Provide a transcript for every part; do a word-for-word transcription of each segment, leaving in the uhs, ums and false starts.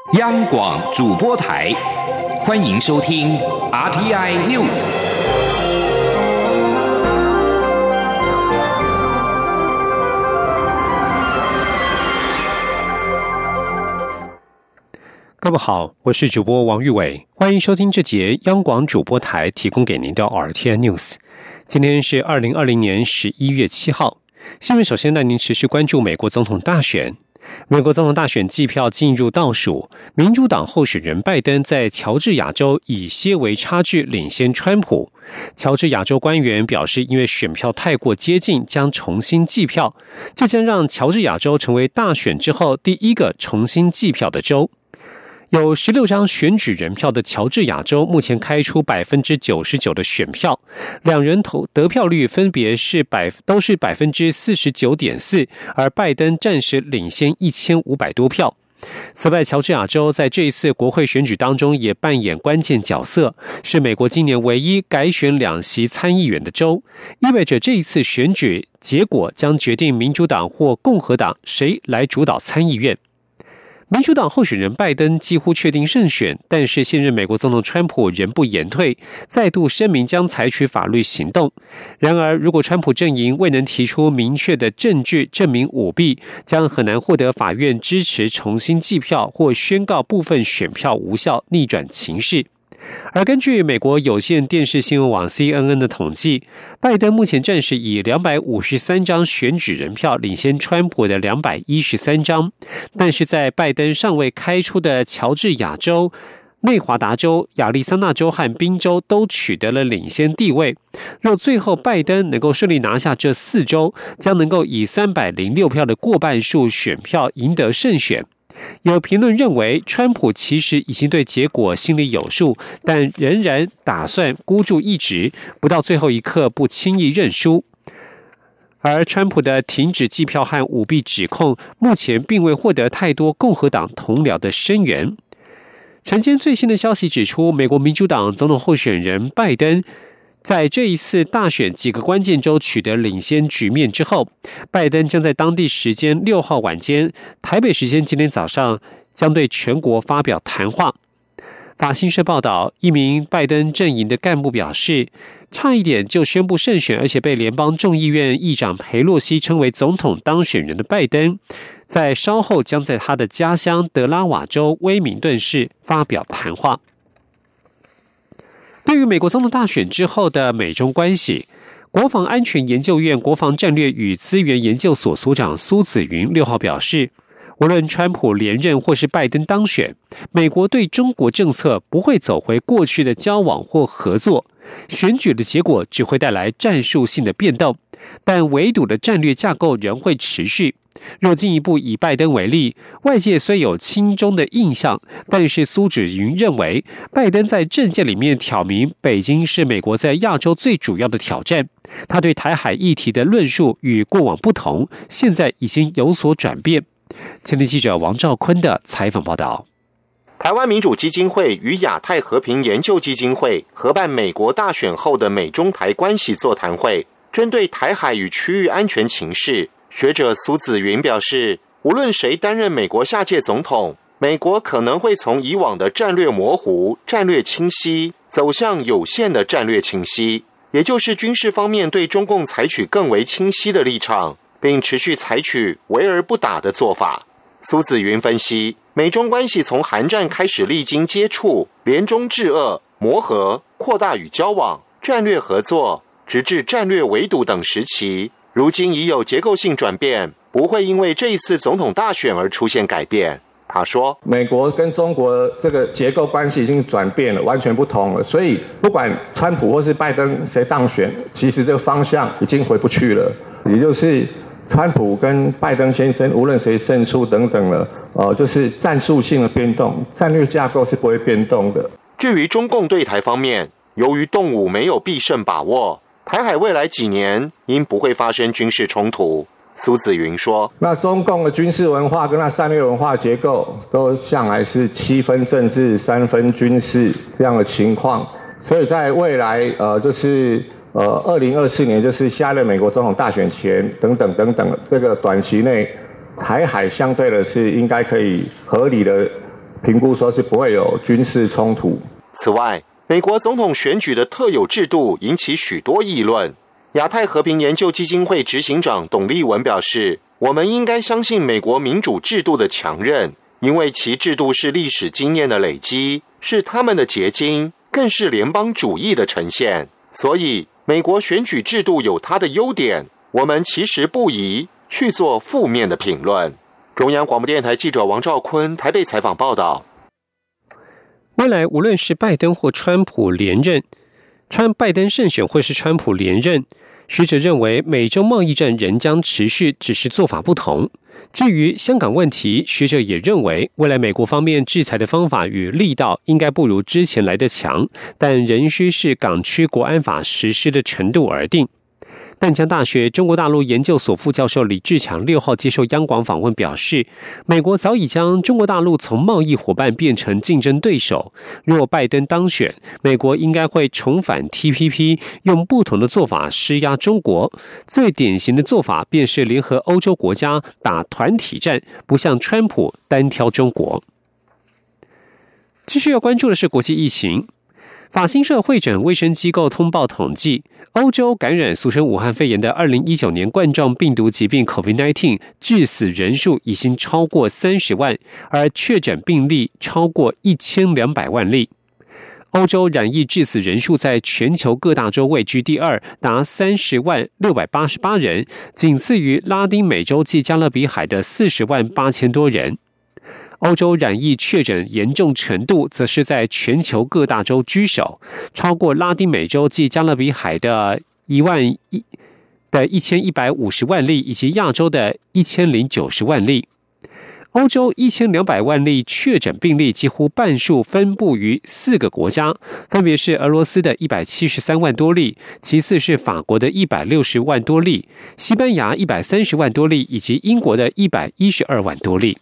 央广主播台，欢迎收听 R T I News。 各位好，我是主播王玉伟，欢迎收听这节央广主播台提供给您的 R T I News。今天是二零二零年十一月七号，新闻首先带您持续关注美国总统大选。美国总统大选计票进入倒数，民主党候选人拜登在乔治亚州以些微差距领先川普。乔治亚州官员表示，因为选票太过接近，将重新计票，这将让乔治亚州成为大选之后第一个重新计票的州。有十六张选举人票的乔治亚州目前开出 百分之九十九 的选票，两人投得票率分别是百都是 百分之四十九点四， 而拜登暂时领先一千五百多票。此外，乔治亚州在这一次国会选举当中也扮演关键角色，是美国今年唯一改选两席参议员的州，意味着这一次选举结果将决定民主党或共和党谁来主导参议院。民主党候选人拜登几乎确定胜选，但是现任美国总统川普仍不言退，再度声明将采取法律行动。然而，如果川普阵营未能提出明确的证据证明舞弊，将很难获得法院支持重新计票或宣告部分选票无效，逆转情势。而根据美国有线电视新闻网 C N N 的统计，拜登目前暂时以两百五十三张选举人票领先川普的两百一十三张，但是在拜登尚未开出的乔治亚州、内华达州、亚利桑那州和宾州都取得了领先地位。若最后拜登能够顺利拿下这四州，将能够以三百零六票的过半数选票赢得胜选。有评论认为，川普其实已经对结果心里有数，但仍然打算孤注一掷，不到最后一刻不轻易认输。而川普的停止计票和舞弊指控，目前并未获得太多共和党同僚的声援。晨间最新的消息指出，美国民主党总统候选人拜登在这一次大选几个关键州取得领先局面之后，拜登将在当地时间六号晚间，台北时间今天早上将对全国发表谈话。法新社报道，一名拜登阵营的干部表示，差一点就宣布胜选，而且被联邦众议院议长裴洛西称为总统当选人的拜登，在稍后将在他的家乡德拉瓦州威明顿市发表谈话。对于美国总统大选之后的美中关系，国防安全研究院国防战略与资源研究所所长苏紫云六号表示，无论川普连任或是拜登当选，美国对中国政策不会走回过去的交往或合作，选举的结果只会带来战术性的变动，但围堵的战略架构仍会持续。若进一步以拜登为例，外界虽有亲中的印象，但是苏紫云认为，拜登在政见里面挑明北京是美国在亚洲最主要的挑战。他对台海议题的论述与过往不同，现在已经有所转变。前天记者王兆坤的采访报道。 台湾民主基金会与亚太和平研究基金会合办美国大选后的美中台关系座谈会，针对台海与区域安全情势，学者苏紫云表示，无论谁担任美国下届总统，美国可能会从以往的战略模糊、战略清晰，走向有限的战略清晰，也就是军事方面对中共采取更为清晰的立场，并持续采取围而不打的做法。苏紫云分析，美中关系从韩战开始历经接触、联中制俄、磨合、扩大与交往、战略合作，直至战略围堵等时期，如今已有结构性转变，不会因为这一次总统大选而出现改变。他说， 美国跟中国这个结构关系已经转变了，完全不同了，所以不管川普或是拜登谁当选，其实这个方向已经回不去了，也就是川普跟拜登先生无论谁胜出等等了，呃，就是战术性的变动，战略架构是不会变动的。 至于中共对台方面，由于动武没有必胜把握，台海未来几年应不会发生军事冲突。苏紫云说， 那中共的军事文化跟那战略文化结构都向来是七分政治三分军事这样的情况，所以在未来呃就是呃二零二四年，就是下任美国总统大选前等等等等这个短期内，台海相对的是应该可以合理的评估说是不会有军事冲突。 此外，美国总统选举的特有制度引起许多议论。亚太和平研究基金会执行长董立文表示，我们应该相信美国民主制度的强韧，因为其制度是历史经验的累积，是他们的结晶，更是联邦主义的呈现。所以美国选举制度有它的优点，我们其实不宜去做负面的评论。中央广播电台记者王兆坤台北采访报道。 未来无论是拜登或川普连任，川拜登胜选或是川普连任，学者认为美中贸易战仍将持续，只是做法不同。至于香港问题，学者也认为未来美国方面制裁的方法与力道应该不如之前来得强，但仍需视港区国安法实施的程度而定。淡江大学中国大陆研究所副教授李志强六号接受央广访问表示，美国早已将中国大陆从贸易伙伴变成竞争对手。若拜登当选，美国应该会重返 T P P， 用不同的做法施压中国。最典型的做法便是联合欧洲国家打团体战，不像川普单挑中国。继续要关注的是国际疫情。法新社会诊卫生机构通报统计，欧洲感染俗称武汉肺炎的二零一九年冠状病毒疾病 COVID 十九 致死人数已经超过三十万，而确诊病例超过一千两百万例。欧洲染疫致死人数在全球各大洲位居第二，达三十万六百八十八人，仅次于拉丁美洲及加勒比海的四十万八千多人。欧洲染疫确诊严重程度则是在全球各大洲居首，超过拉丁美洲及加勒比海的一万一的一千一百五十万例，以及亚洲的一千零九十万例。欧洲一千两百万例确诊病例几乎半数分布于四个国家，分别是俄罗斯的一百七十三万多例，其次是法国的一百六十万多例，西班牙一百三十万多例，以及英国的一百一十二万多例。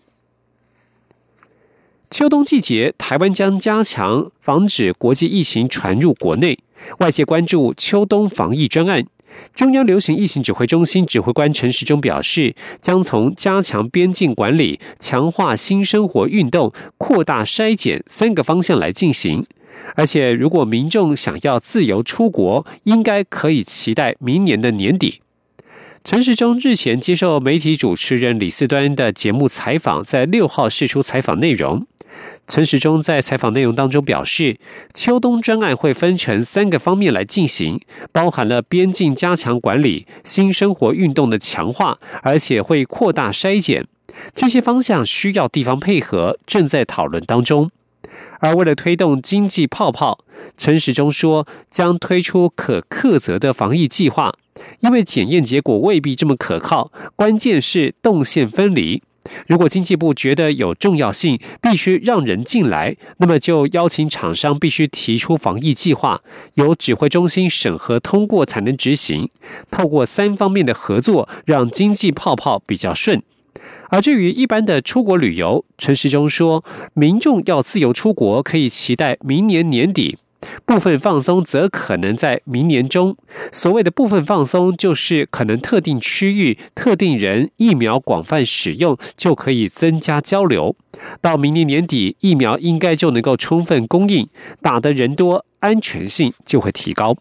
秋冬季节，台湾将加强防止国际疫情传入国内，外界关注秋冬防疫专案。中央流行疫情指挥中心指挥官陈时中表示，将从加强边境管理、强化新生活运动、扩大筛检三个方向来进行。而且，如果民众想要自由出国，应该可以期待明年的年底。陈时中日前接受媒体主持人李四端的节目采访，在六号释出采访内容。陈时中在采访内容当中表示，秋冬专案会分成三个方面来进行，包含了边境加强管理、新生活运动的强化，而且会扩大筛检。这些方向需要地方配合，正在讨论当中。而为了推动经济泡泡，陈时中说将推出可客责的防疫计划，因为检验结果未必这么可靠，关键是动线分离。如果经济部觉得有重要性，必须让人进来，那么就邀请厂商必须提出防疫计划，由指挥中心审核通过才能执行。透过三方面的合作，让经济泡泡比较顺。而至于一般的出国旅游，陈时中说，民众要自由出国，可以期待明年年底。部分放松则可能在明年中。所谓的部分放松，就是可能特定区域、特定人疫苗广泛使用，就可以增加交流。到明年年底，疫苗应该就能够充分供应，打的人多，安全性就会提高。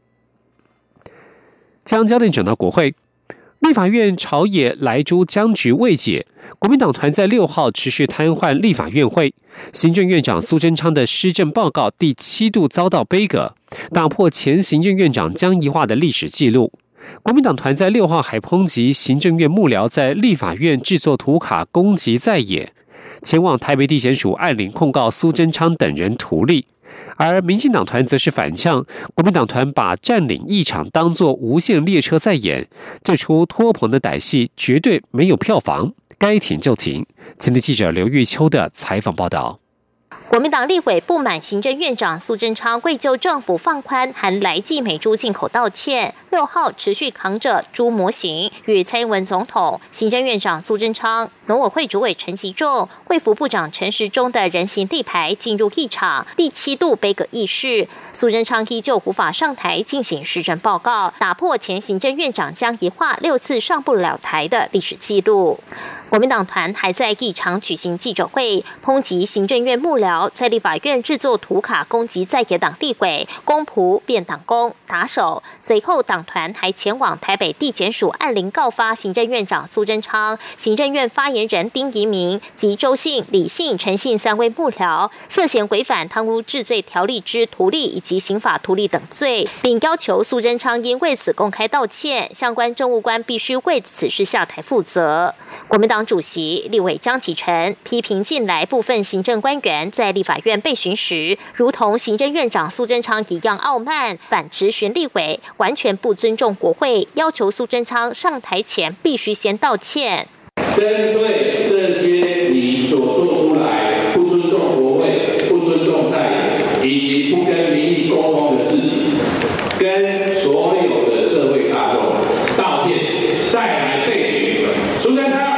将焦点转到国会。立法院朝野莱猪僵局未解，国民党团在六号持续瘫痪立法院会。行政院长苏贞昌的施政报告第七度遭到杯葛，打破前行政院长江宜樺的历史记录。国民党团在六号还抨击行政院幕僚在立法院制作图卡攻击在野，前往台北地检署按铃控告苏贞昌等人图利。而民进党团则是反呛，国民党团把占领议场当作无限列车在演，这出拖棚的歹戏绝对没有票房，该停就停。前天记者刘玉秋的采访报道。 国民党立委不满行政院长苏贞昌未就政府放宽含来剂美猪进口道歉，六号持续扛着猪模型与蔡英文总统、行政院长苏贞昌、农委会主委陈吉仲、卫福部长陈时中的人形立牌进入议场，第七度杯葛议事。苏贞昌依旧无法上台进行施政报告，打破前行政院长江宜樺六次上不了台的历史记录。国民党团还在议场举行记者会，抨击行政院幕僚在立法院制作图卡攻击在野党立委，公仆变党工打手。随后党团还前往台北地检署按铃告发行政院长苏贞昌、行政院发言人丁仪明及周信、李信、陈信三位幕僚，涉嫌违反贪污治罪条例之图利以及刑法图利等罪，并要求苏贞昌应为此公开道歉，相关政务官必须为此事下台负责。国民党主席立委江启臣批评近来部分行政官员在立法院备询时，如同行政院长苏贞昌一样傲慢，反质询立委，完全不尊重国会，要求苏贞昌上台前必须先道歉。 针对这些你所做出来不尊重国会、不尊重在野以及不跟民意沟通的事情，跟所有的社会大众道歉，再来备询苏贞昌。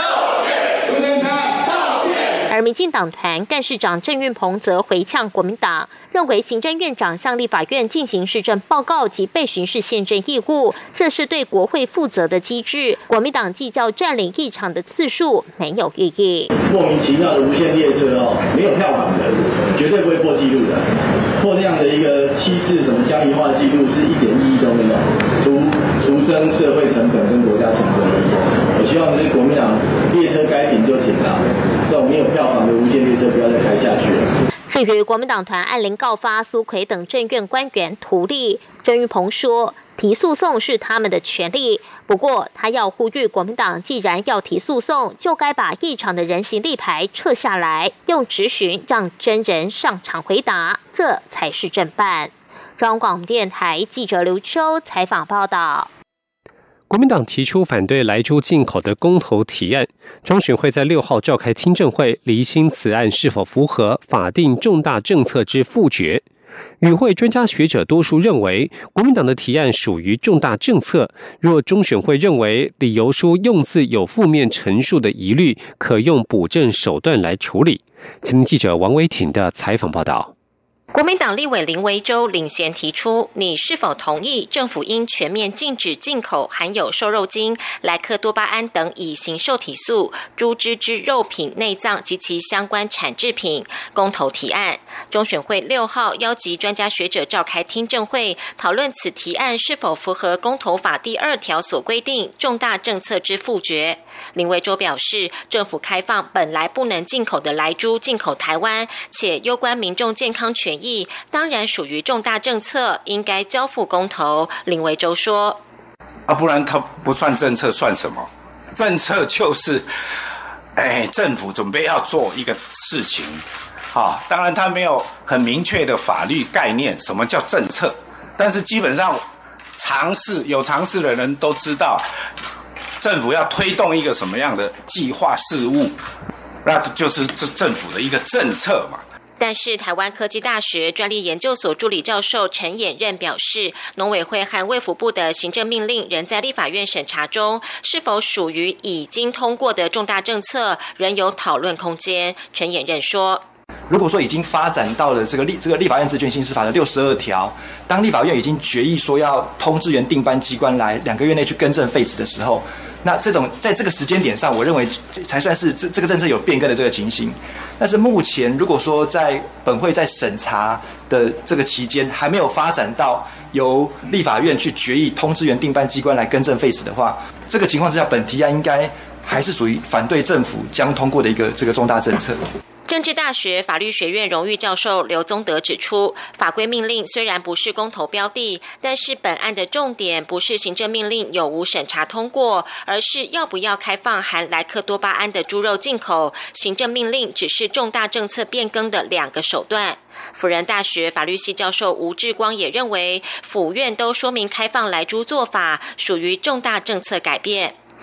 而民进党团干事长郑运鹏则回呛国民党，认为行政院长向立法院进行施政报告及备询是宪政义务，这是对国会负责的机制。国民党计较占领议场的次数没有意义。 莫名其妙的无限列车哦，没有票房的，绝对不会破纪录的。破这样的一个七次什么江宜樺的纪录是一点意义都没有，除除增社会成本跟国家成本。我希望就是国民党列车该停就停了，这种没有票房的无限列车不要再开下去了。 至于国民党团按铃告发苏揆等政院官员图利，郑运鹏说提诉讼是他们的权利，不过他要呼吁国民党既然要提诉讼，就该把议场的人形立牌撤下来，用质询让真人上场回答，这才是正办。中央广播电台记者刘秋采访报道。 国民党提出反对莱猪进口的公投提案，中选会在六号召开听证会，厘清此案是否符合法定重大政策之复决。与会专家学者多数认为，国民党的提案属于重大政策，若中选会认为理由书用字有负面陈述的疑虑，可用补正手段来处理。请听记者王维婷的采访报道。 国民党立委林维洲领衔提出，你是否同意政府应全面禁止进口含有瘦肉精、莱克多巴胺等乙型受体素、猪只之肉品、内脏及其相关产制品？公投提案，中选会六号邀集专家学者召开听证会，讨论此提案是否符合公投法第二条所规定重大政策之复决。林维洲表示，政府开放本来不能进口的莱猪进口台湾，且攸关民众健康权益，当然属于重大政策，应该交付公投。林维洲说：“ 啊，不然它不算政策，算什么？政策就是，哎，政府准备要做一个事情，啊，当然它没有很明确的法律概念，什么叫政策？但是基本上，常识有常识的人都知道。”政府要推动一个什么样的计划事务，那就是这政府的一个政策嘛。 但是台湾科技大学专利研究所助理教授陈衍任表示，农委会和卫福部的行政命令仍在立法院审查中，是否属于已经通过的重大政策，仍有讨论空间。陈衍任说， 如果说已经发展到了这个立这个立法院职权行使法的六十二条，当立法院已经决议说要通知原定班机关来两个月内去更正废止的时候，那这种在这个时间点上，我认为才算是这这个政策有变更的这个情形。但是目前如果说在本会在审查的这个期间还没有发展到由立法院去决议通知原定班机关来更正废止的话，这个情况之下，本提案应该还是属于反对政府将通过的一个这个重大政策。 政治大学法律学院荣誉教授刘宗德指出，法规命令虽然不是公投标的，但是本案的重点不是行政命令有无审查通过，而是要不要开放含莱克多巴胺的猪肉进口。行政命令只是重大政策变更的两个手段。辅仁大学法律系教授吴志光也认为，府院都说明开放莱猪做法属于重大政策改变。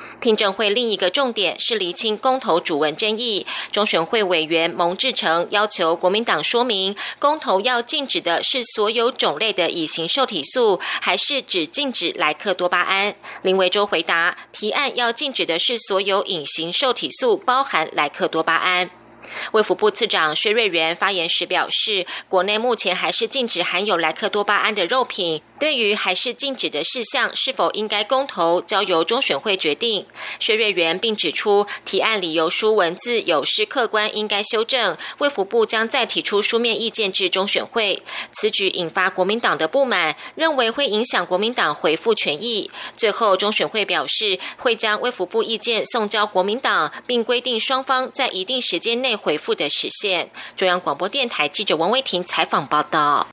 听证会另一个重点是厘清公投主文争议。中选会委员蒙志成要求国民党说明，公投要禁止的是所有种类的乙型受体素，还是只禁止莱克多巴胺？林维洲回答，提案要禁止的是所有乙型受体素，包含莱克多巴胺。卫福部次长薛瑞元发言时表示，国内目前还是禁止含有莱克多巴胺的肉品，对于还是禁止的事项是否应该公投，交由中选会决定。薛瑞元并指出，提案理由书文字有失客观，应该修正，卫福部将再提出书面意见至中选会。此举引发国民党的不满，认为会影响国民党回复权益。最后中选会表示，会将卫福部意见送交国民党，并规定双方在一定时间内回复的时限。中央广播电台记者王威婷采访报道。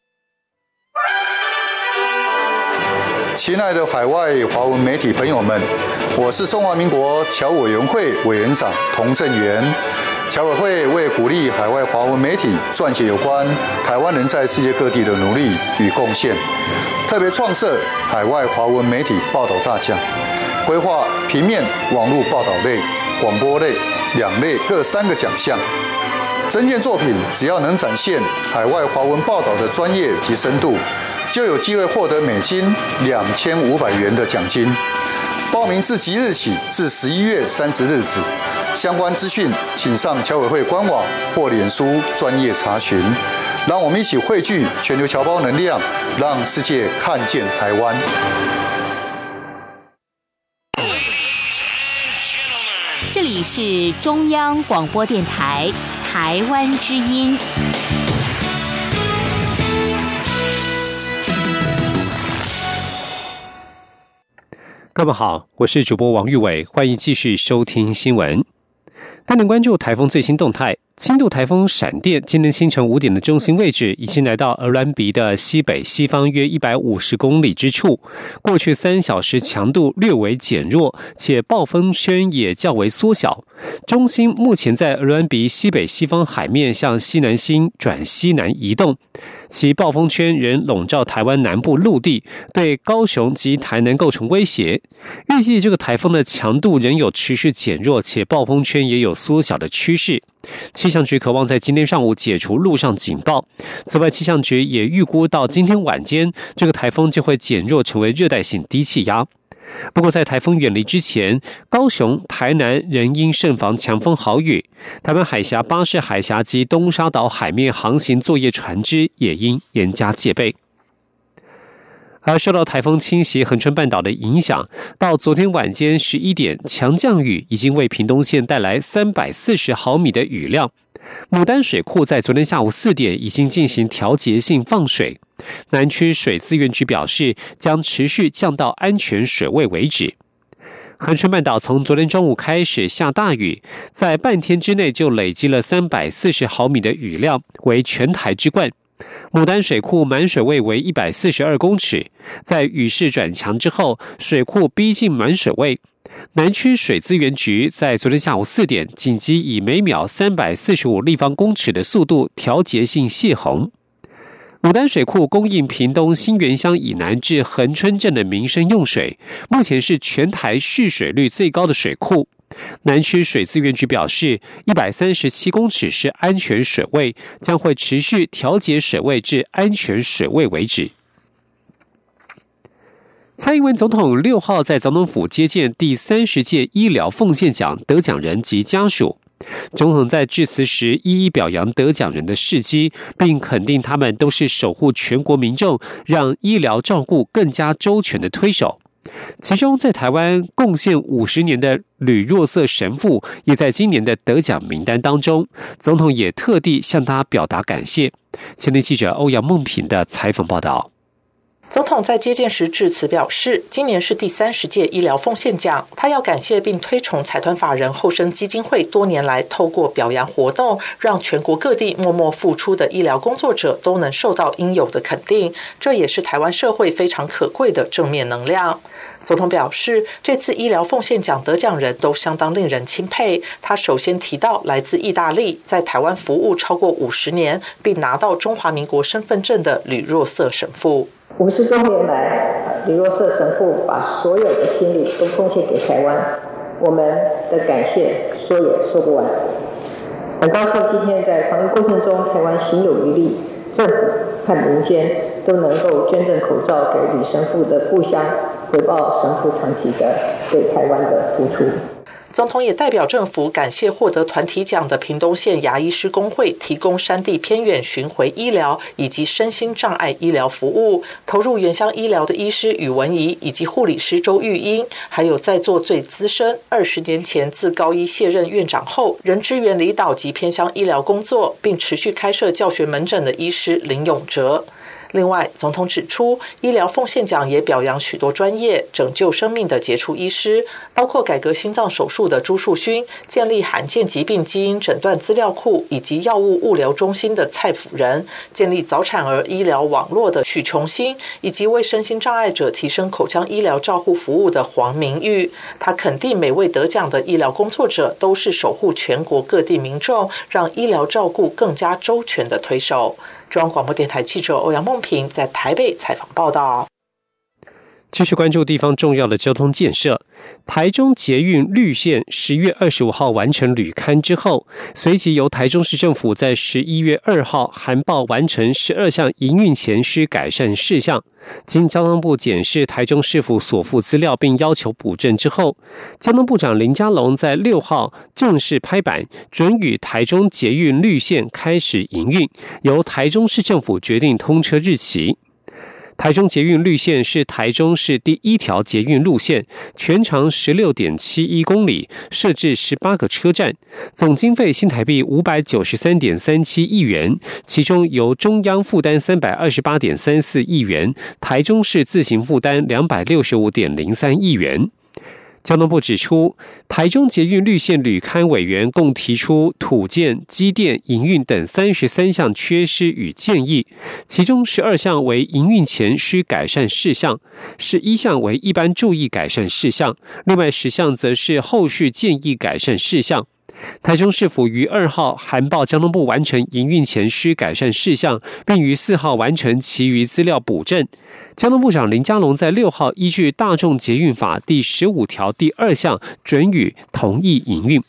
亲爱的海外华文媒体朋友们，我是中华民国侨委员会委员长童正源。侨委会为鼓励海外华文媒体撰写有关台湾人在世界各地的努力与贡献，特别创设海外华文媒体报道大奖，规划平面、网络报道类、广播类两类各三个奖项。征件作品只要能展现海外华文报道的专业及深度，就有机会获得美金两千五百元的奖金。报名自即日起至十一月三十日止，相关资讯请上侨委会官网或脸书专业查询。让我们一起汇聚全球侨胞能量，让世界看见台湾。 这里是中央广播电台台湾之音。 各位好，我是主播王玉伟，欢迎继续收听新闻。带您关注台风最新动态。轻度台风闪电今天清晨五点的中心位置已经来到鹅銮鼻的西北西方约一百五十公里之处，过去三小时强度略为减弱，且暴风圈也较为缩小。中心目前在鹅銮鼻西北西方海面向西南西转西南移动，其暴风圈仍笼罩台湾南部陆地，对高雄及台南构成威胁。预计这个台风的强度仍有持续减弱，且暴风圈也有缩小的趋势。气象局渴望在今天上午解除陆上警报。此外，气象局也预估到今天晚间，这个台风就会减弱成为热带性低气压。不过，在台风远离之前，高雄、台南仍应慎防强风豪雨。台湾海峡、巴士海峡及东沙岛海面航行作业船只也应严加戒备。而受到台风侵袭恒春半岛的影响，到昨天晚间十一点，强降雨已经为屏东县带来三百四十毫米的雨量。牡丹水库在昨天下午四点已经进行调节性放水，南区水资源局表示将持续降到安全水位为止。恒春半岛从昨天中午开始下大雨，在半天之内就累积了三百四十毫米的雨量，为全台之冠。牡丹水库满水位为一百四十二公尺，在雨势转强之后，水库逼近满水位。南区水资源局在昨天下午四点紧急以每秒三百四十五立方公尺的速度调节性泄洪。牡丹水库供应屏东新园乡以南至恒春镇的民生用水，目前是全台蓄水率最高的水库。南区水资源局表示，一百三十七公尺是安全水位，将会持续调节水位至安全水位为止。蔡英文总统六号在总统府接见第三十届医疗奉献奖得奖人及家属。总统在致辞时一一表扬得奖人的事迹，并肯定他们都是守护全国民众，让医疗照顾更加周全的推手。其中在台湾贡献五十年的吕若瑟神父也在今年的得奖名单当中，总统也特地向他表达感谢。前天记者欧阳梦平的采访报道。 总统在接见时致辞表示，今年是第三十届医疗奉献奖，他要感谢并推崇财团法人后生基金会多年来透过表扬活动，让全国各地默默付出的医疗工作者都能受到应有的肯定，这也是台湾社会非常可贵的正面能量。总统表示，这次医疗奉献奖得奖人都相当令人钦佩。他首先提到来自意大利，在台湾服务超过五十年，并拿到中华民国身份证的吕若瑟神父。 五十多年来，吕若瑟神父把所有的心力都奉献给台湾， 我们的感谢说也说不完。很高兴今天在防疫过程中，台湾行有余力，政府和民间都能够捐赠口罩给吕神父的故乡，回报神父长期的对台湾的付出。 总统也代表政府感谢获得团体奖的屏东县牙医师公会提供山地偏远巡回医疗以及身心障碍医疗服务，投入原乡医疗的医师宇文仪以及护理师周玉英，还有在座最资深二十年前自高医卸任院长后仍支援离岛及偏乡医疗工作，并持续开设教学门诊的医师林永哲。另外，总统指出，医疗奉献奖也表扬许多专业拯救生命的杰出医师，包括改革心脏手术的朱树勋，建立罕见疾病基因诊断资料库以及药物物流中心的蔡辅仁，建立早产儿医疗网络的许琼新，以及为身心障碍者提升口腔医疗照护服务的黄明玉。他肯定每位得奖的医疗工作者都是守护全国各地民众，让医疗照顾更加周全的推手。中央广播电台记者欧阳梦平在台北采访报道。 继续关注地方重要的交通建设。台中捷运绿线十月二十五号完成履勘之后，随即由台中市政府在十一月二号函报完成十二项营运前需改善事项。经交通部检视台中市府所附资料并要求补正之后，交通部长林佳龙在六号正式拍板，准予台中捷运绿线开始营运，由台中市政府决定通车日期。台中捷运绿线是台中市第一条捷运路线，全长 十六点七一公里，设置十八个车站，总经费新台币 五百九十三点三七亿元，其中由中央负担 三百二十八点三四亿元，台中市自行负担 两百六十五点零三亿元。交通部指出，台中捷运绿线履勘委员共提出土建、机电、营运等三十三项缺失与建议，其中十二项为营运前需改善事项，十一项为一般注意改善事项，另外十项则是后续建议改善事项。台中市府于二号函报交通部完成营运前需改善事项，并于四号完成其余资料补正。交通部长林佳龙在六号依据大众捷运法第十五条第二项准予同意营运。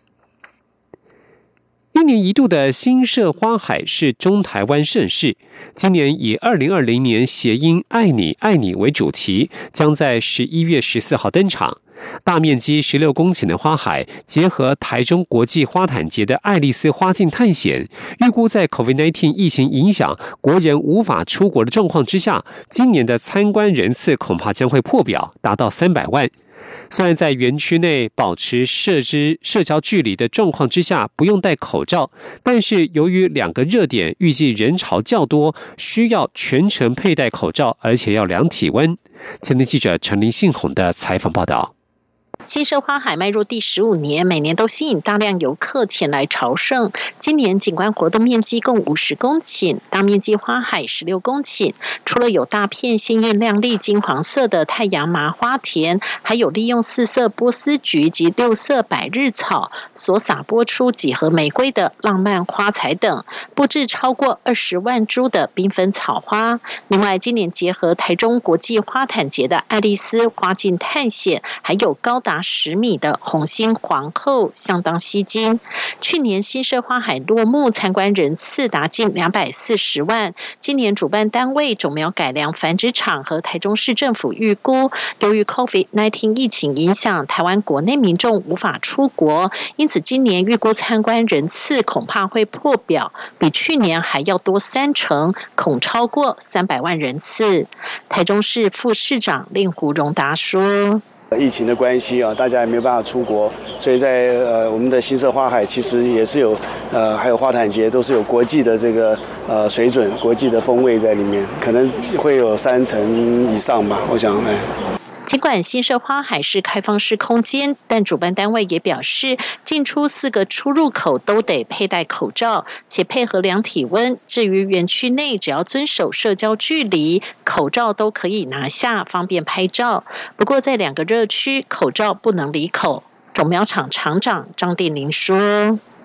一年一度的新社花海是中台湾盛事，今年以二零二零年谐音爱你爱你为主题，将在十一月十四号登场。大面积十六公顷的花海，结合台中国际花毯节的爱丽丝花境探险，预估在 COVID 十九 疫情影响，国人无法出国的状况之下，今年的参观人次恐怕将会破表，达到三百万。虽然在园区内保持社之社交距离的状况之下不用戴口罩，但是由于两个热点预计人潮较多，需要全程佩戴口罩，而且要量体温。前天记者陈林信宏的采访报道。 新社花海迈入第十五年，每年都吸引大量游客前来朝圣。今年景观活动面积共五十公顷，大面积花海十六公顷。除了有大片鲜艳亮丽金黄色的太阳麻花田，还有利用四色波斯菊及六色百日草所洒播出几何玫瑰的浪漫花材等，布置超过二十万株的缤纷草花。另外，今年结合台中国际花毯节的爱丽丝花境探险，还有高达十米的红心皇后，相当吸睛。去年新社花海落幕，参观人次达近两百四十万。今年主办单位种苗改良繁殖场和台中市政府预估，由于 COVID 十九 疫情影响，台湾国内民众无法出国，因此今年预估参观人次恐怕会破表，比去年还要多三成，恐超过三百万人次。台中市副市长令胡荣达说。 疫情的关系啊，大家也没有办法出国，所以在呃我们的新社花海其实也是有呃还有花毯节都是有国际的这个呃水准、国际的风味在里面，可能会有三成以上吧，我想哎。 尽管新社花海是开放式空间，但主办单位也表示，进出四个出入口都得佩戴口罩，且配合量体温。至于园区内，只要遵守社交距离，口罩都可以拿下，方便拍照。不过在两个热区，口罩不能离口。种苗场场长张定林说。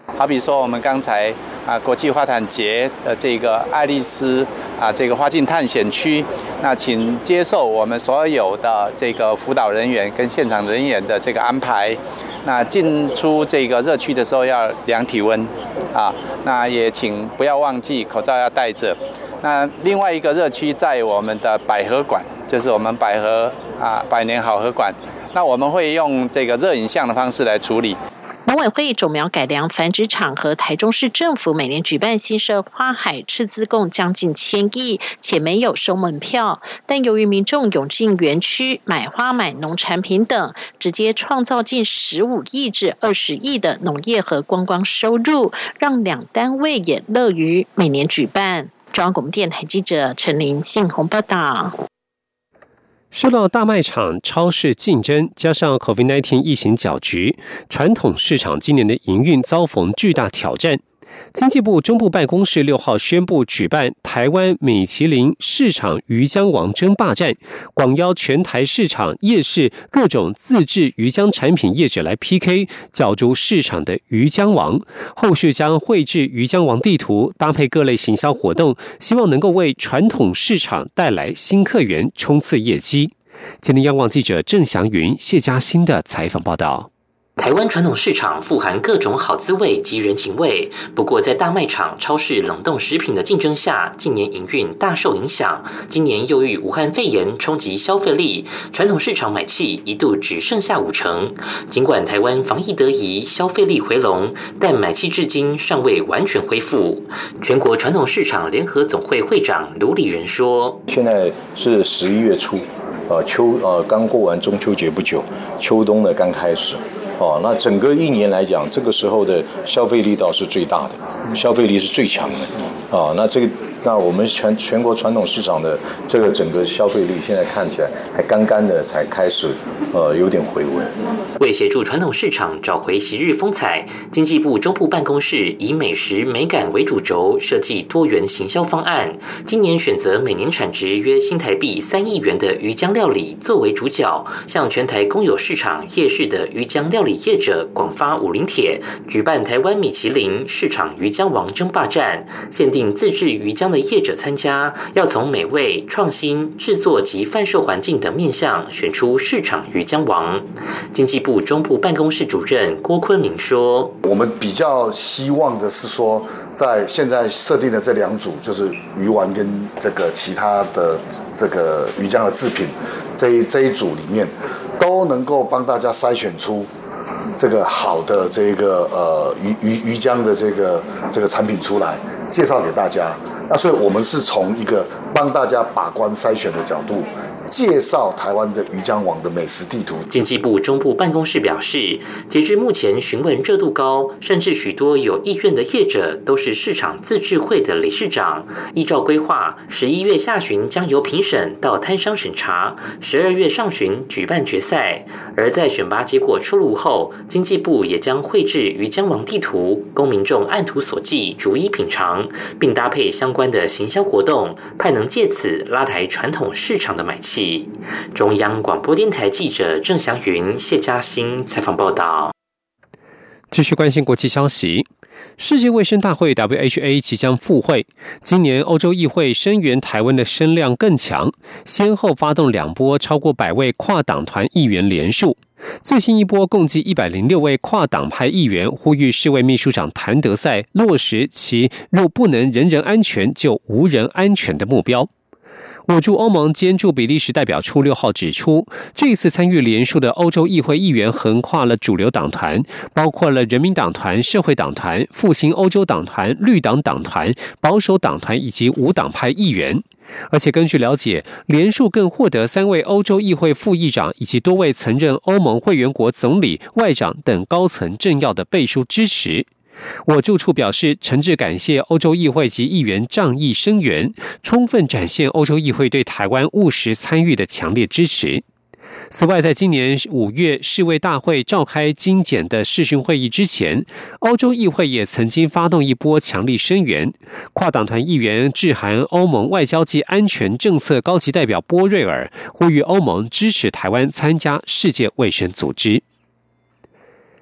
好比说我们刚才啊国际花坛节的这个爱丽丝啊这个花境探险区，那请接受我们所有的这个辅导人员跟现场人员的这个安排。那进出这个热区的时候要量体温啊，那也请不要忘记口罩要戴着。那另外一个热区在我们的百合馆，就是我们百合啊百年好合馆，那我们会用这个热影像的方式来处理。 农委会种苗改良繁殖场和台中市政府每年举办新社花海斥资共将近千亿，且没有收门票。但由于民众涌进园区买花买农产品等，直接创造近十五亿至二十亿的农业和观光收入，让两单位也乐于每年举办。中央广播电台记者陈琳信鸿报道。 受到大卖场、超市竞争，加上 COVID 十九 疫情搅局，传统市场今年的营运遭逢巨大挑战。经济部中部办公室六号宣布举办台湾米其林市场鱼浆王争霸战，广邀全台市场、夜市各种自制鱼浆产品业者来 P K， 角逐市场的鱼浆王。后续将绘制鱼浆王地图，搭配各类行销活动，希望能够为传统市场带来新客源，冲刺业绩。今天央广记者郑祥云、谢嘉欣的采访报道。 台湾传统市场富含各种好滋味及人情味，不过在大卖场、超市冷冻食品的竞争下，近年营运大受影响。今年又遇武汉肺炎冲击消费力，传统市场买气一度只剩下五成。尽管台湾防疫得宜，消费力回笼，但买气至今尚未完全恢复。全国传统市场联合总会会长卢礼仁说：“ 现在是十一月初，呃秋呃刚过完中秋节不久，秋冬呢刚开始。”哦，那整个一年来讲，这个时候的消费力道是最大的，消费力是最强的。啊，那这个，那我们全全国传统市场的这个整个消费力，现在看起来还刚刚的才开始，呃，有点回温。 为协助传统市场找回昔日风采，经济部中部办公室以美食美感为主轴，设计多元行销方案。今年选择每年产值约新台币三亿元的鱼浆料理作为主角，向全台公有市场、夜市的鱼浆料理业者广发武林帖，举办台湾米其林市场鱼浆王争霸战，限定自制鱼浆的业者参加，要从美味、创新、制作及贩售环境等面向选出市场鱼浆王。经济部中部办公室主任郭坤明说：“ 我们比较希望的是说，在现在设定的这两组，就是鱼丸跟这个其他的这个鱼浆的制品，这一这一组里面，都能够帮大家筛选出这个好的这个呃鱼鱼鱼浆的这个这个产品出来，介绍给大家。那所以我们是从一个帮大家把关筛选的角度，介绍台湾的鱼浆王的美食地图。” 经济部中部办公室表示，截至目前询问热度高，甚至许多有意愿的业者都是市场自治会的理事长。依照规划，十一月下旬将由评审到摊商审查，十二月上旬举办决赛。而在选拔结果出炉后，经济部也将绘制鱼浆王地图，供民众按图索骥逐一品尝，并搭配相关的行销活动，盼能借此拉抬传统市场的买气。中央广播电台记者郑祥云、谢嘉欣采访报道。 继续关心国际消息，世界卫生大会 W H A 即将复会，今年欧洲议会声援台湾的声量更强，先后发动两波超过百位跨党团议员联署。最新一波共计一百零六位跨党派议员呼吁世卫秘书长谭德赛落实其若不能人人安全就无人安全的目标。我驻欧盟兼驻比利时代表处六号指出，这一次参与联署的欧洲议会议员横跨了主流党团，包括了人民党团、社会党团、复兴欧洲党团、绿党党团、保守党团以及无党派议员。而且根据了解，联署更获得三位欧洲议会副议长以及多位曾任欧盟会员国总理、外长等高层政要的背书支持。我驻处表示，诚挚感谢欧洲议会及议员仗义声援，充分展现欧洲议会对台湾务实参与的强烈支持。此外，在今年五月世卫大会召开精简的视讯会议之前，欧洲议会也曾经发动一波强力声援，跨党团议员致函欧盟外交及安全政策高级代表波瑞尔，呼吁欧盟支持台湾参加世界卫生组织。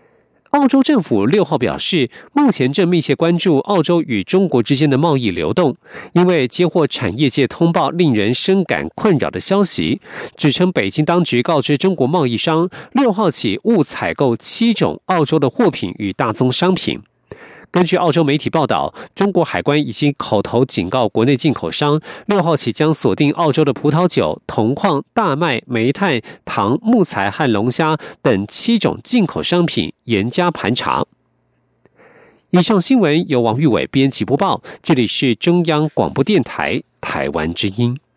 澳洲政府六号表示，目前正密切关注澳洲与中国之间的贸易流动，因为接获产业界通报令人深感困扰的消息，指称北京当局告知中国贸易商，六号起误采购七种澳洲的货品与大宗商品。根据澳洲媒体报道，中国海关已经口头警告国内进口商，六号起将锁定澳洲的葡萄酒、铜矿、大麦、煤炭、糖、木材和龙虾等七种进口商品，严加盘查。以上新闻由王玉伟编辑播报，这里是中央广播电台台湾之音。